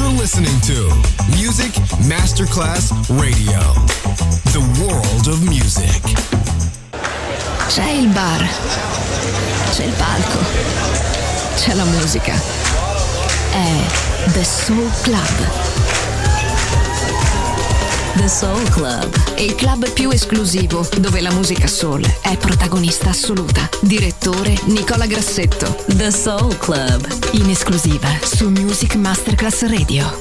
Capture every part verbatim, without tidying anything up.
You're listening to Music Masterclass Radio, the world of music. C'è il bar, c'è il palco, c'è la musica. È The Soul Club. The Soul Club, il club più esclusivo dove la musica soul è protagonista assoluta. Direttore Nicola Grassetto. The Soul Club, in esclusiva su Music Masterclass Radio.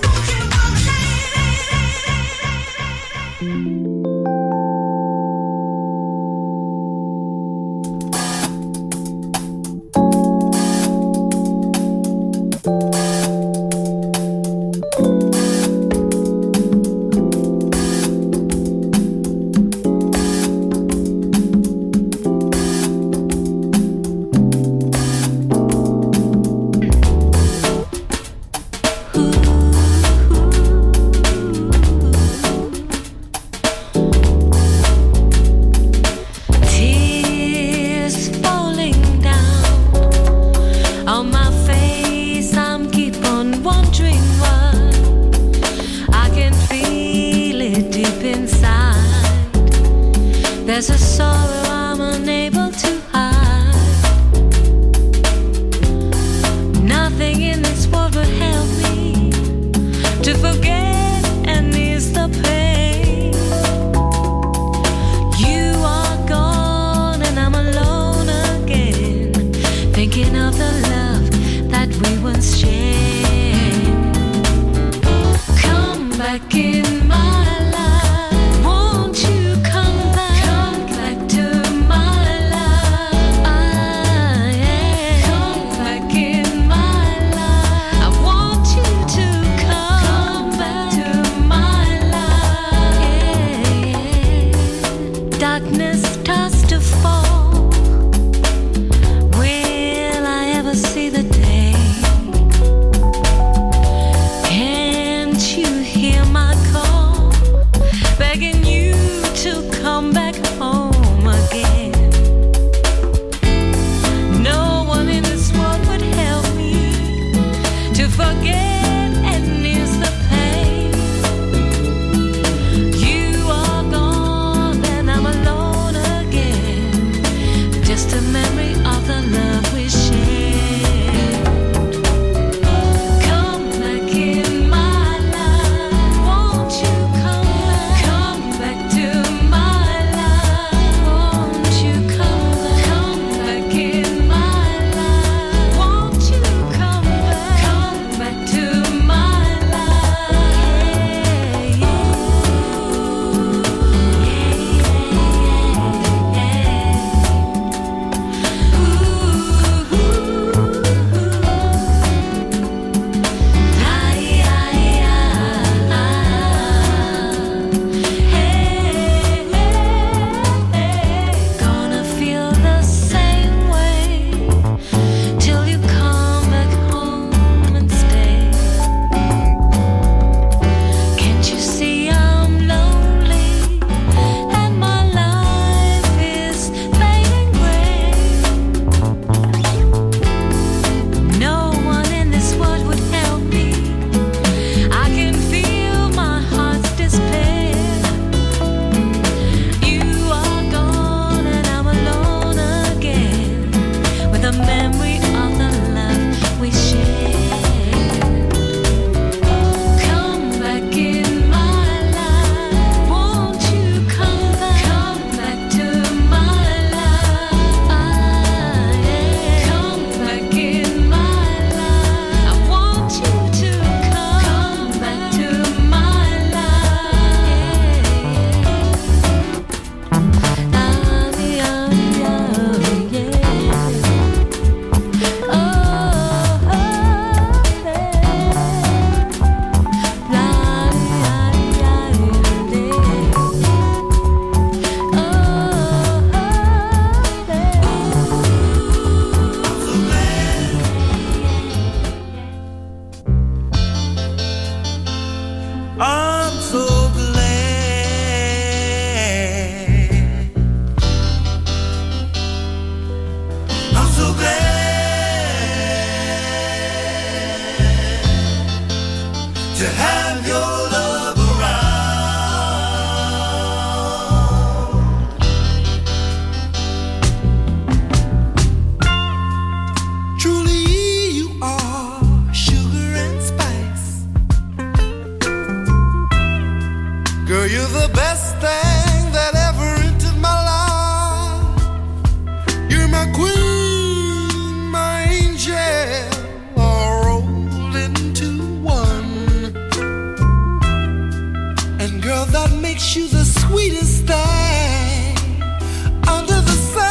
to have your love around. Truly you are sugar and spice. Girl, you're the best thing that ever entered my life. You're my queen, my angel, all rolled into one. And girl, that makes you the sweetest thing under the sun.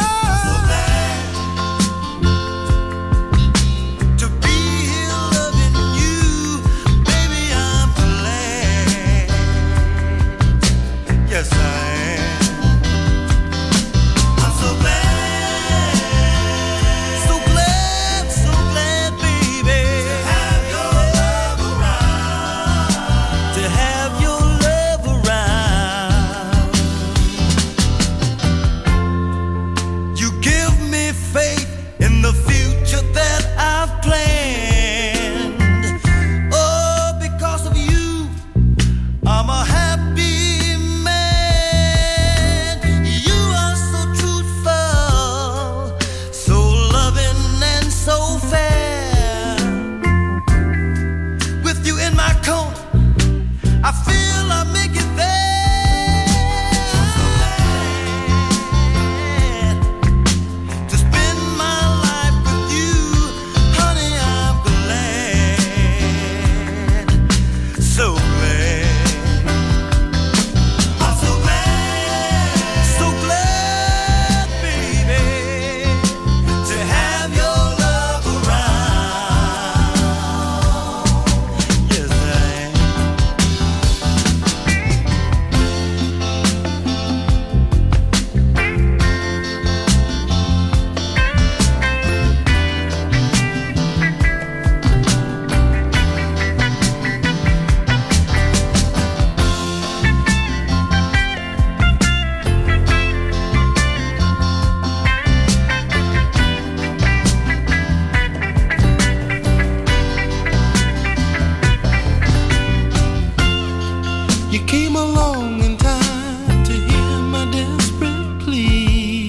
To be here loving you, baby, I'm glad. Yes, I am. I'm so glad, so glad, so glad, baby, to have your love around, to have your love around. You give me faith in the future that I've planned. Oh, because of you, I'm a happy man. You are so truthful, so loving and so fair. With you in my corner, I feel I make it there. To spend my life with you, honey, I'm glad, so glad. I'm so glad, so glad, baby, to have your love around. Yes, I am. You came along in time to hear my desperate plea.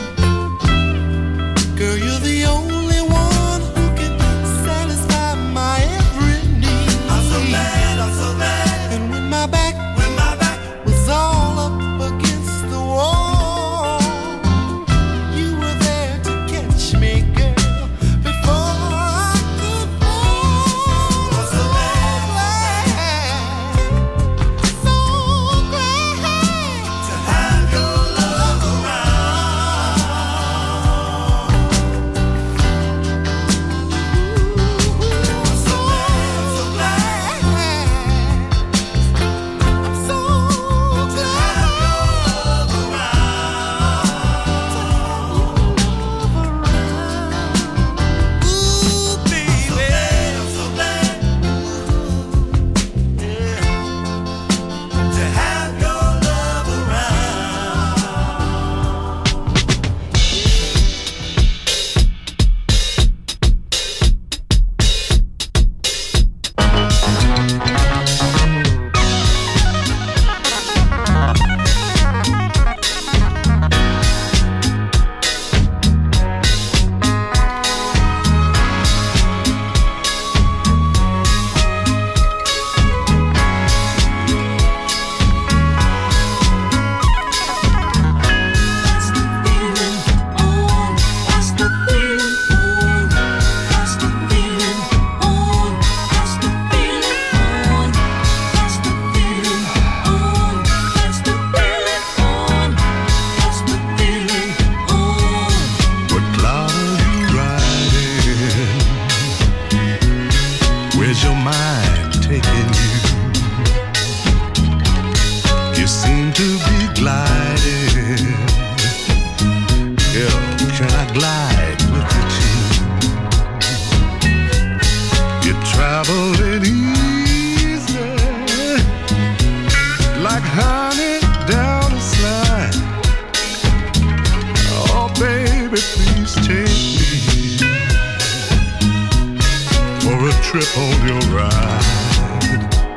Girl, you're the only one who can satisfy my every need. I'm so glad, I'm so glad. And when my back, when my back was all up against the wall, you were there to catch me, girl, before I could fall. I'm so glad, so glad to have your love around. I'm so glad, so glad. I'm so glad to have your love around. Ooh, baby, I'm so glad, yeah, to have your love around. That's the feeling on, that's the feeling on, that's the feeling on, that's the feeling on, that's the feeling on, that's the feeling on. What cloud are you riding? Where's your mind taking you? You seem to be gliding. Girl, can I glide with you too? You're traveling easy, like honey down a slide. Oh, baby, please take me for a trip on your ride.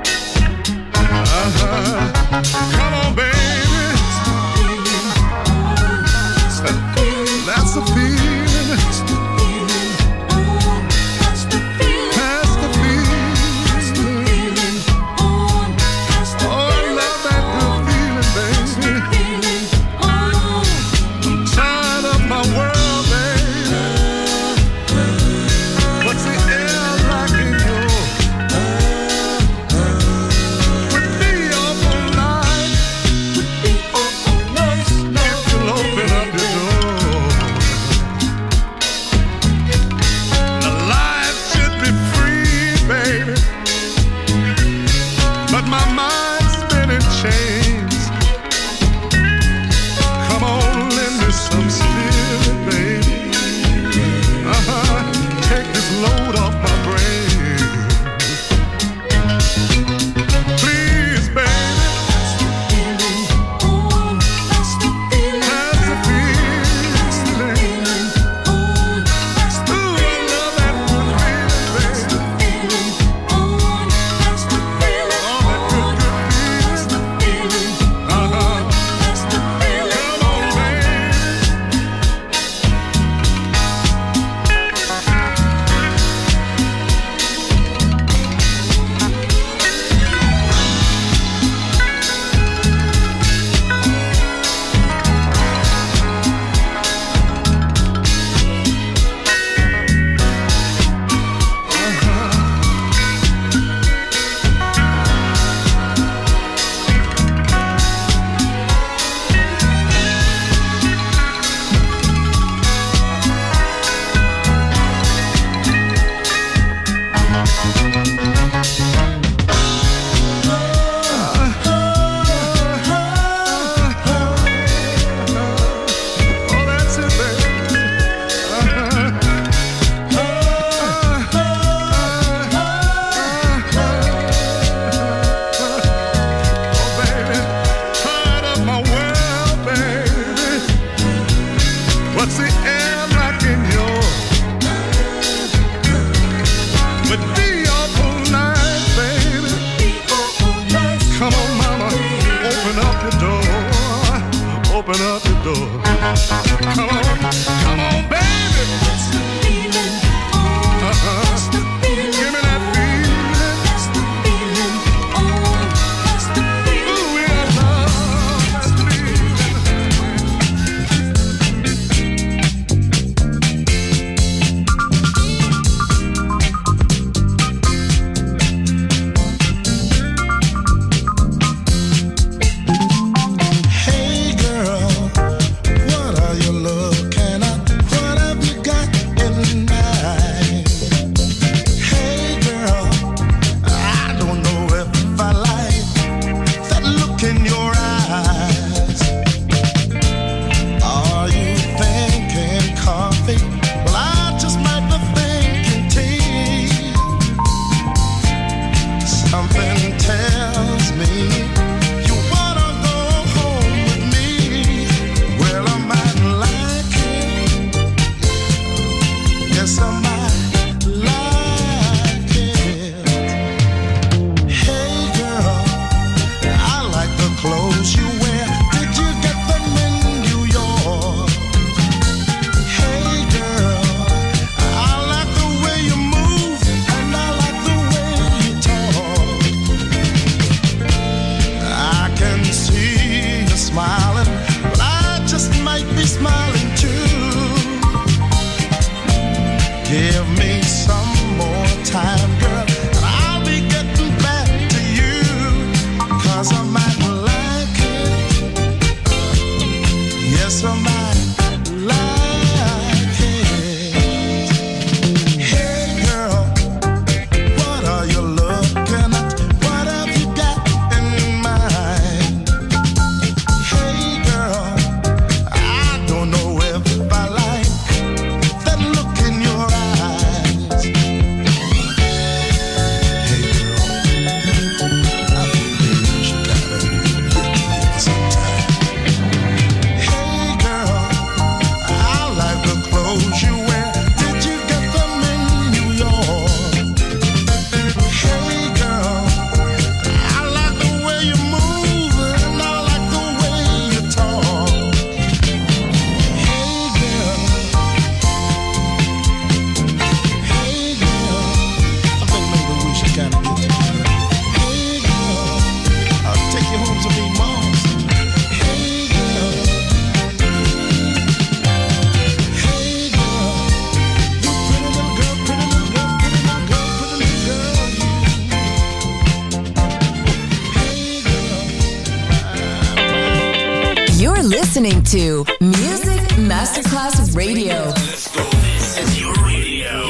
listening to Music Masterclass Radio. Let's go. This is your radio.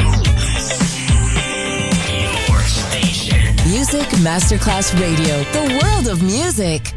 Your station. Music Masterclass Radio. The world of music.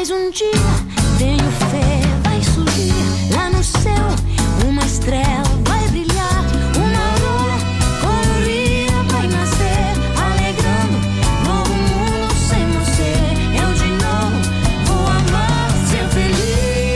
Mas um dia, tenho fé, vai surgir lá no céu uma estrela, vai brilhar, uma aurora colorida vai nascer, alegrando novo mundo sem você. Eu de novo vou amar, ser feliz.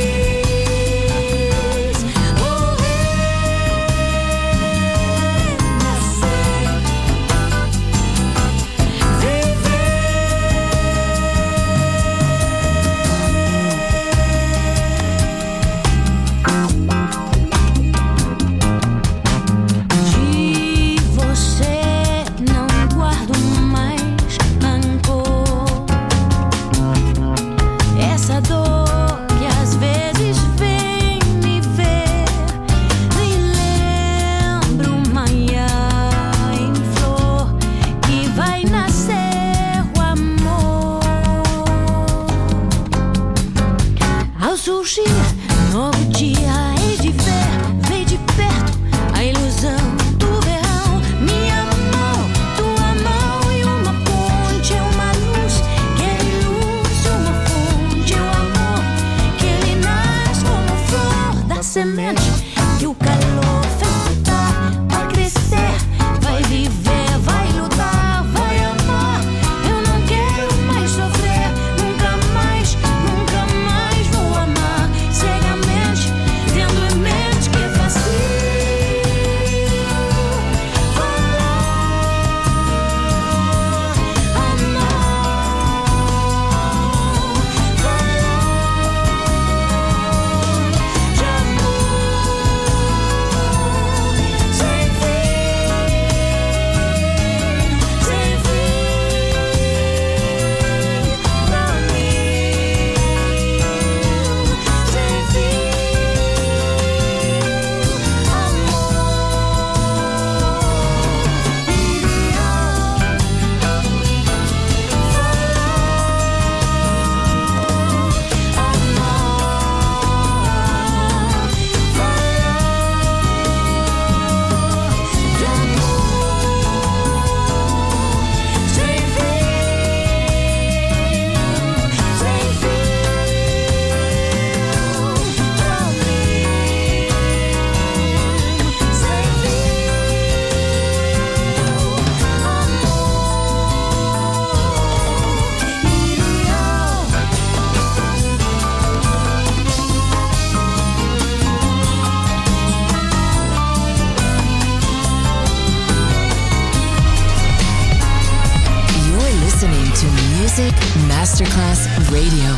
Masterclass Radio.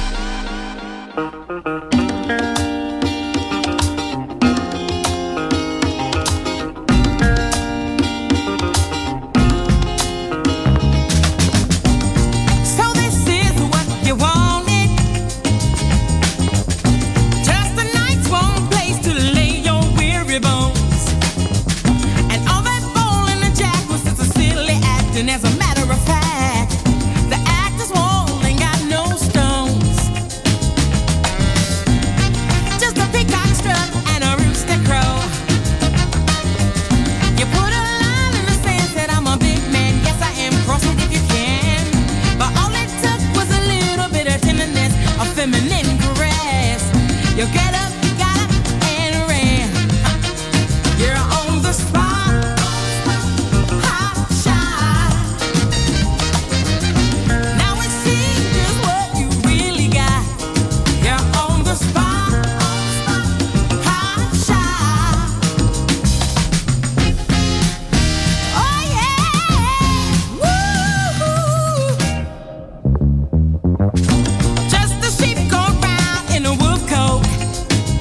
Just the sheep go round in a wolf coat.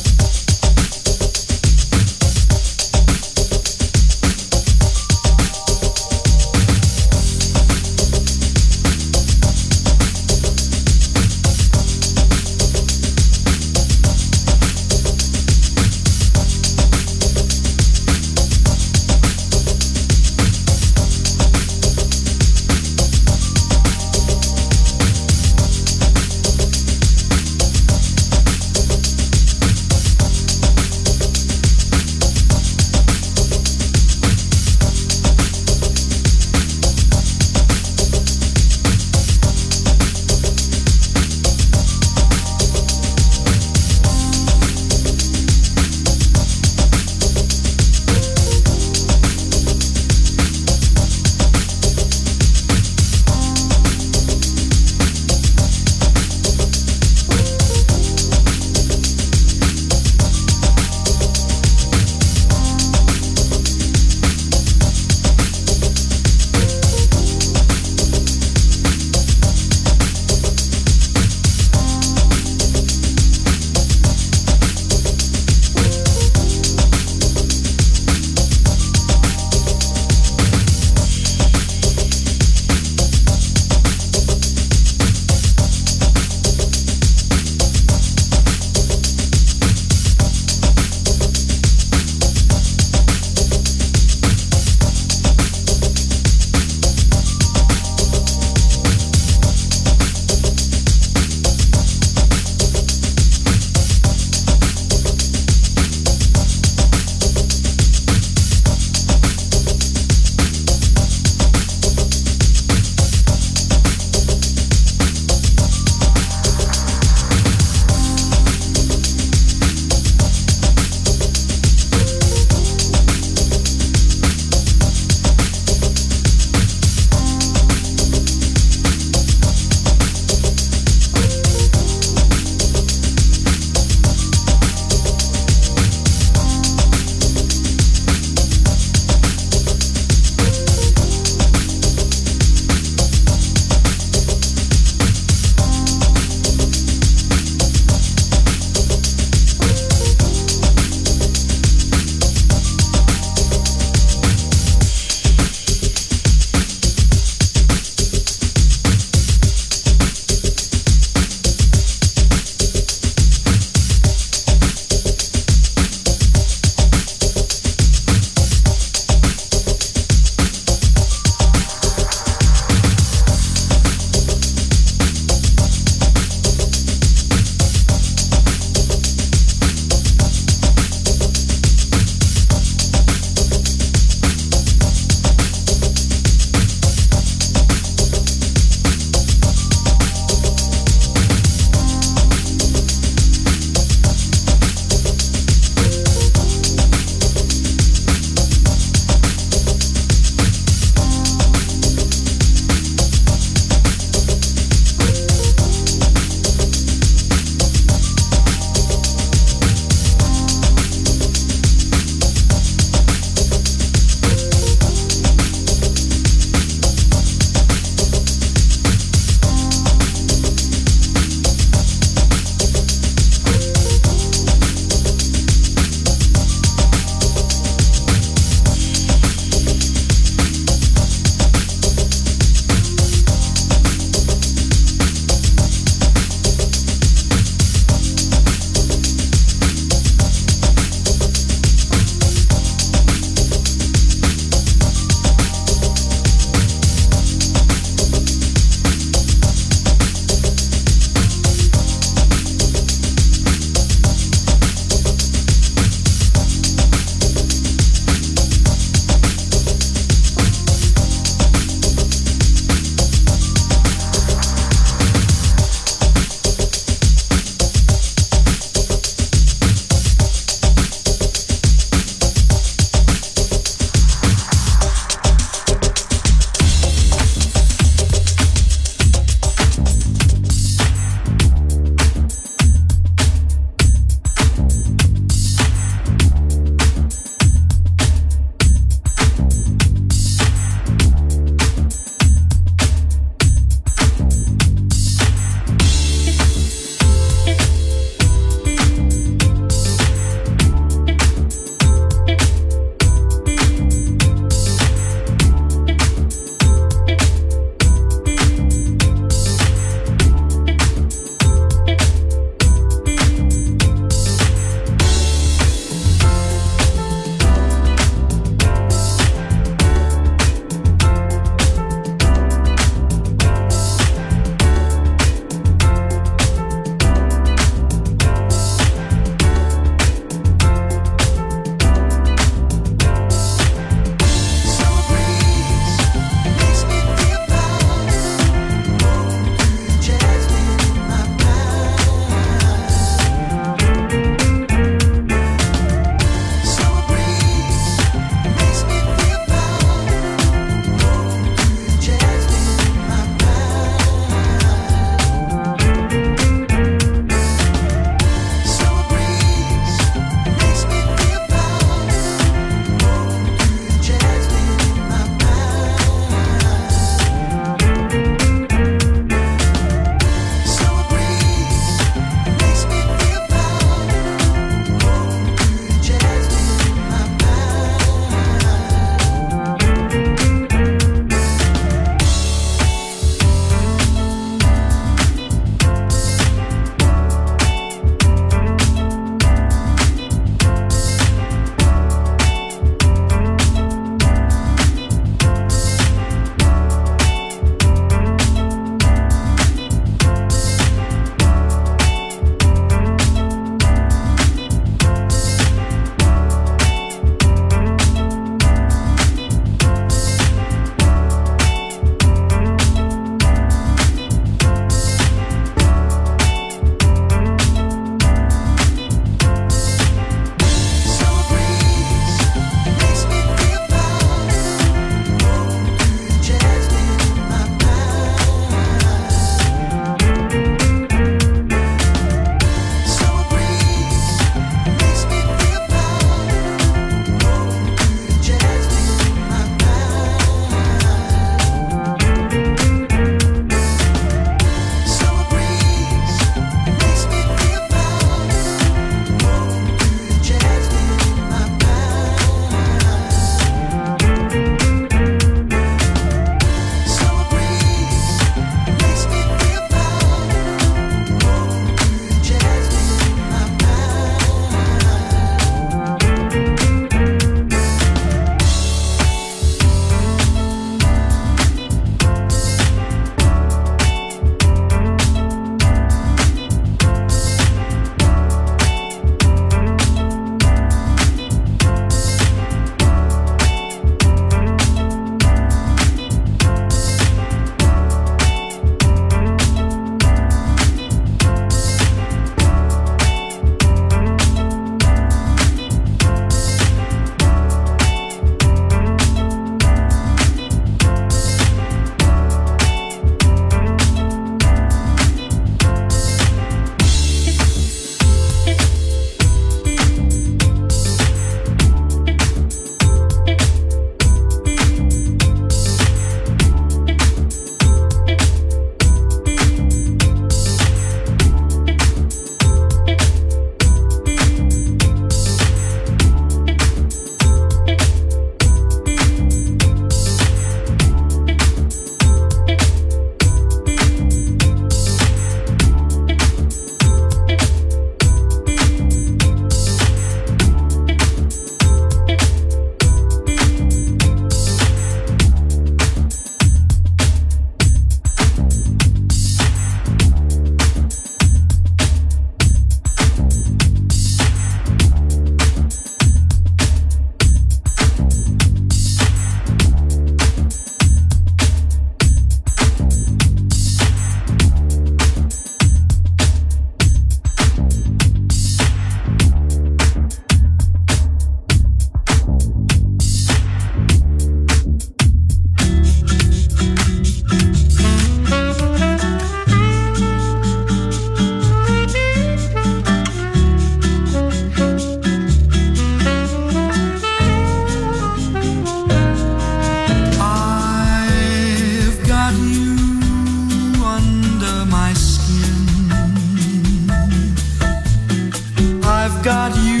got you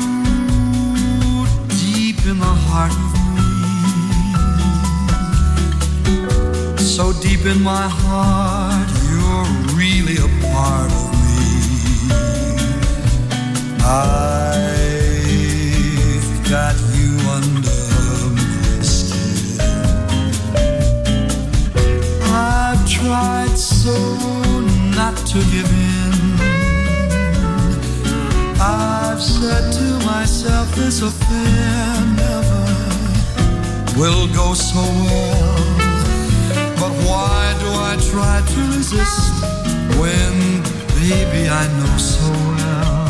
deep in the heart of me. So deep in my heart, you're really a part of me. I've got you under my skin. I've tried so not to give in. I've said to myself, this affair never will go so well. But why do I try to resist when, baby, I know so well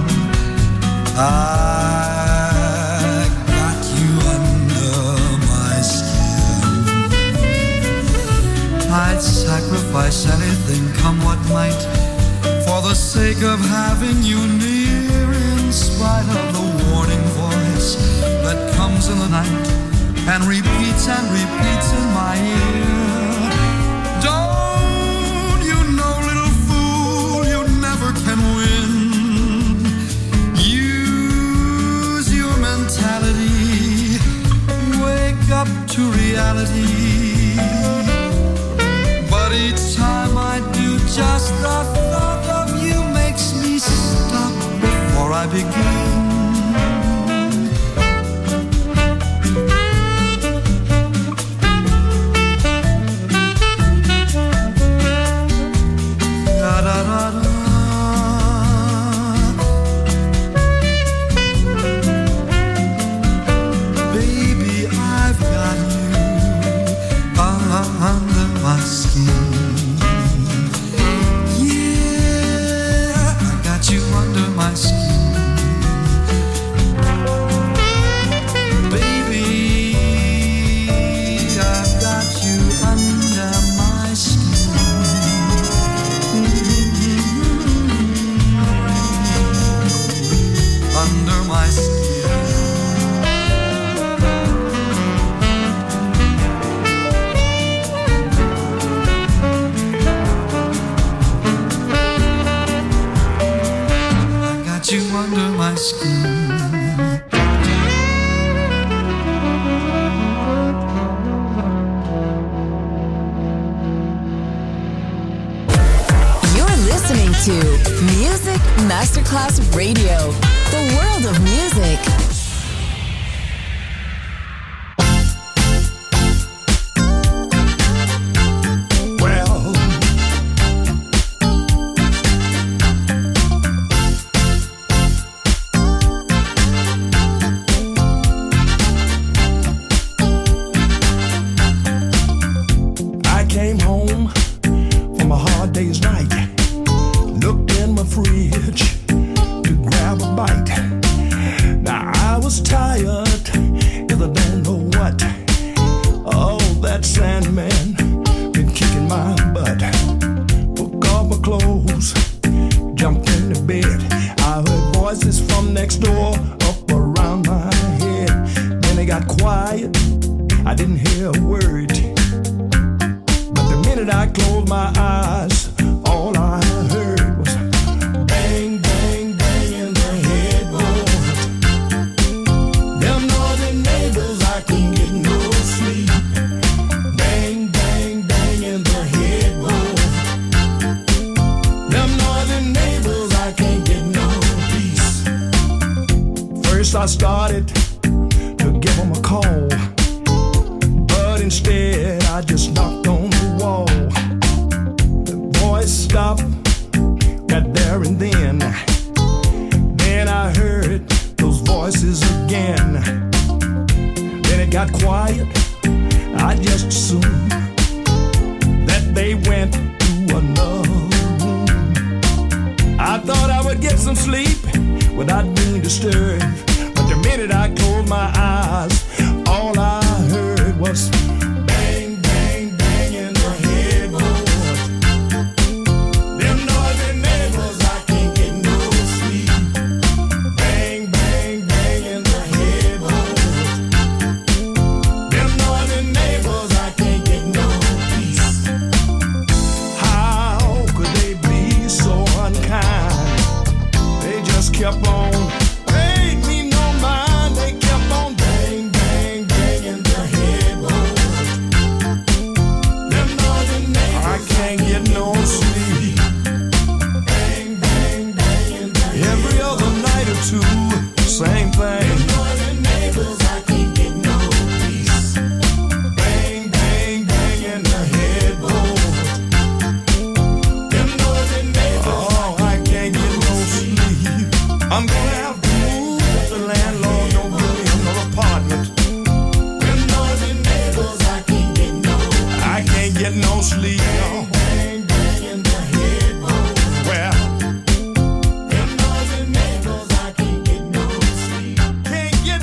I got you under my skin. I'd sacrifice anything, come what might, for the sake of having you near, in spite of the warning voice that comes in the night and repeats and repeats in my ear. Don't you know, little fool, you never can win. Use your mentality, wake up to reality. But each time I do, just the thought of you makes me stop before I begin. Baby, I've got you under my skin. Yeah, I got you under my skin. Baby, I've got you under my skin. Under my skin. You under my skin. You're listening to Music Masterclass Radio, the world of music. I started to give them a call, but instead I just knocked on the wall. The voice stopped right there and then. Then I heard those voices again. Then it got quiet. I just assumed that they went to another room. I thought I would get some sleep without being disturbed. The minute I closed my eyes, all I heard was bang, bang, bang in the headboard. Them noisy neighbors, I can't get no sleep. Bang, bang, bang in the headboard. Them noisy neighbors, I can't get no peace. How could they be so unkind? They just kept on I'm gonna have to move if the landlord don't give me another apartment. Them noisy neighbors, I can't get no I can't get no sleep, no. Bang, bang in the headboard. Well, them noisy neighbors, I can't get no sleep. Can't get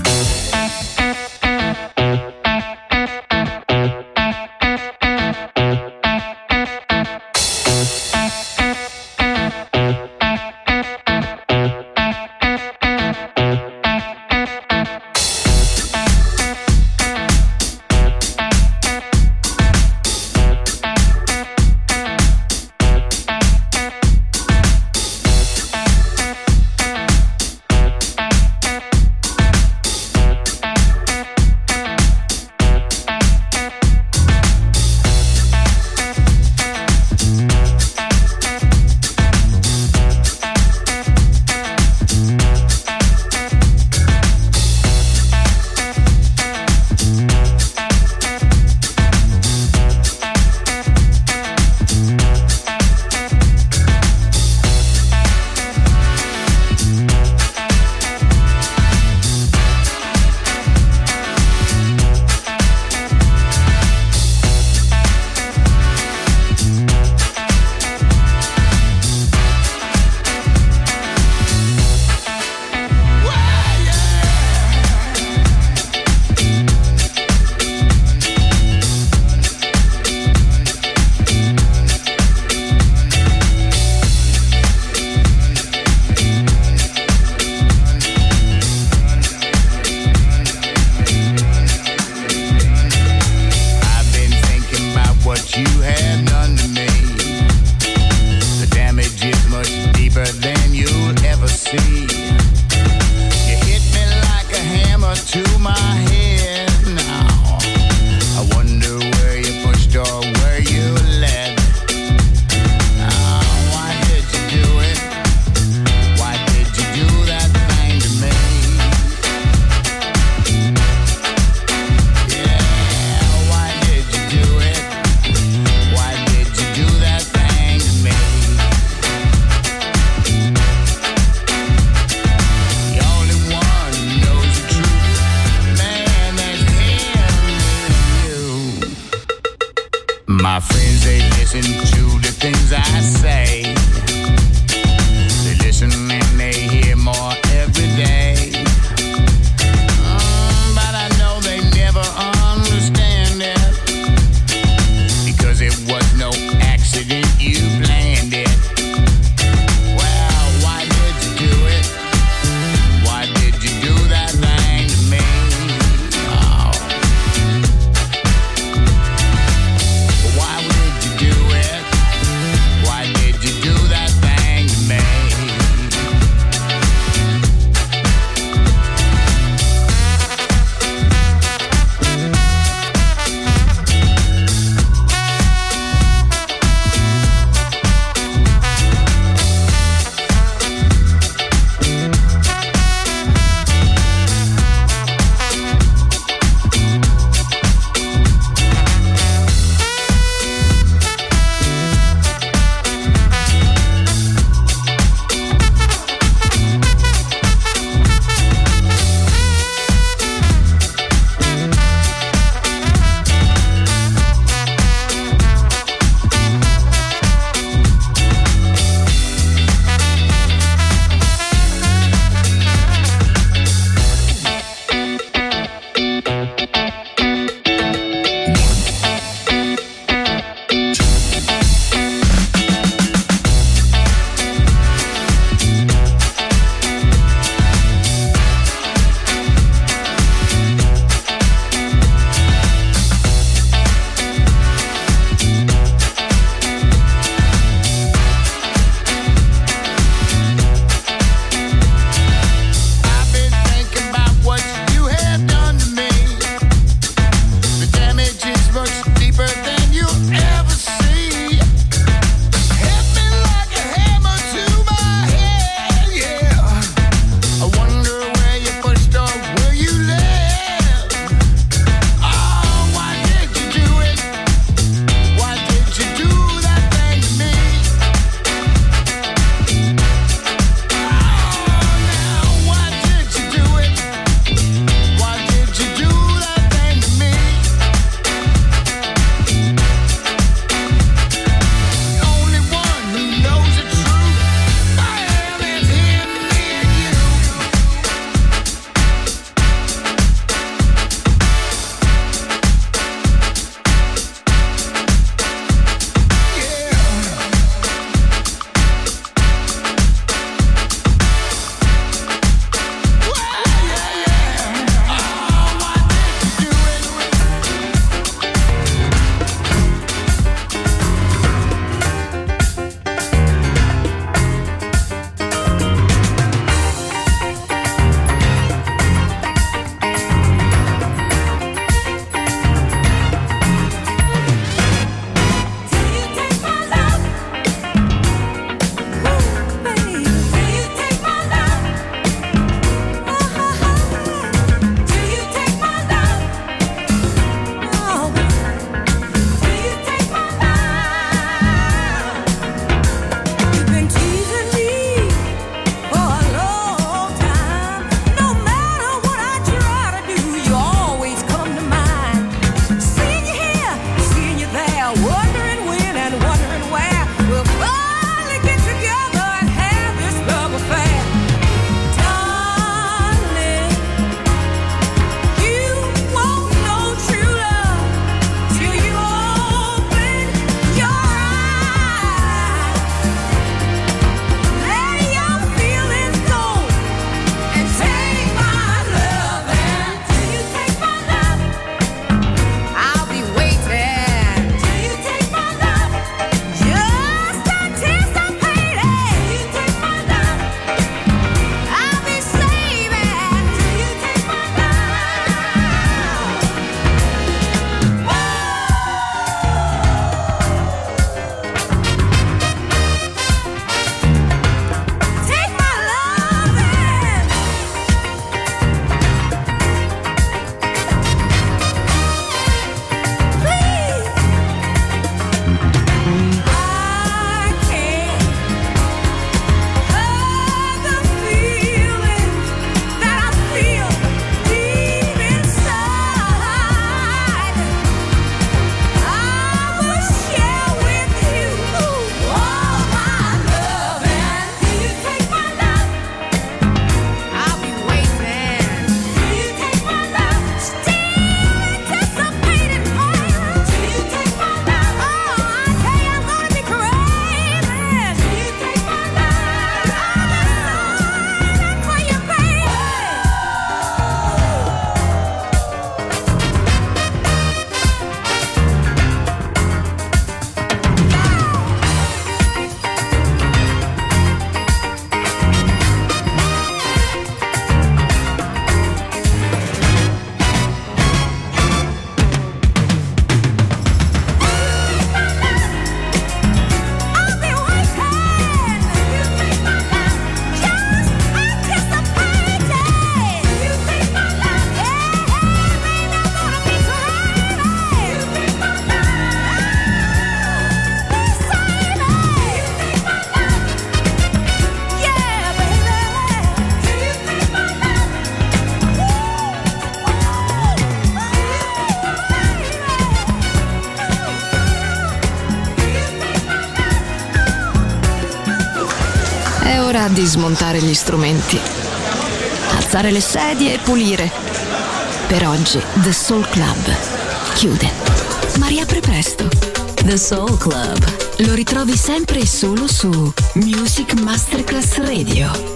È ora di smontare gli strumenti, alzare le sedie e pulire. Per oggi The Soul Club chiude, ma riapre presto. The Soul Club lo ritrovi sempre e solo su Music Masterclass Radio.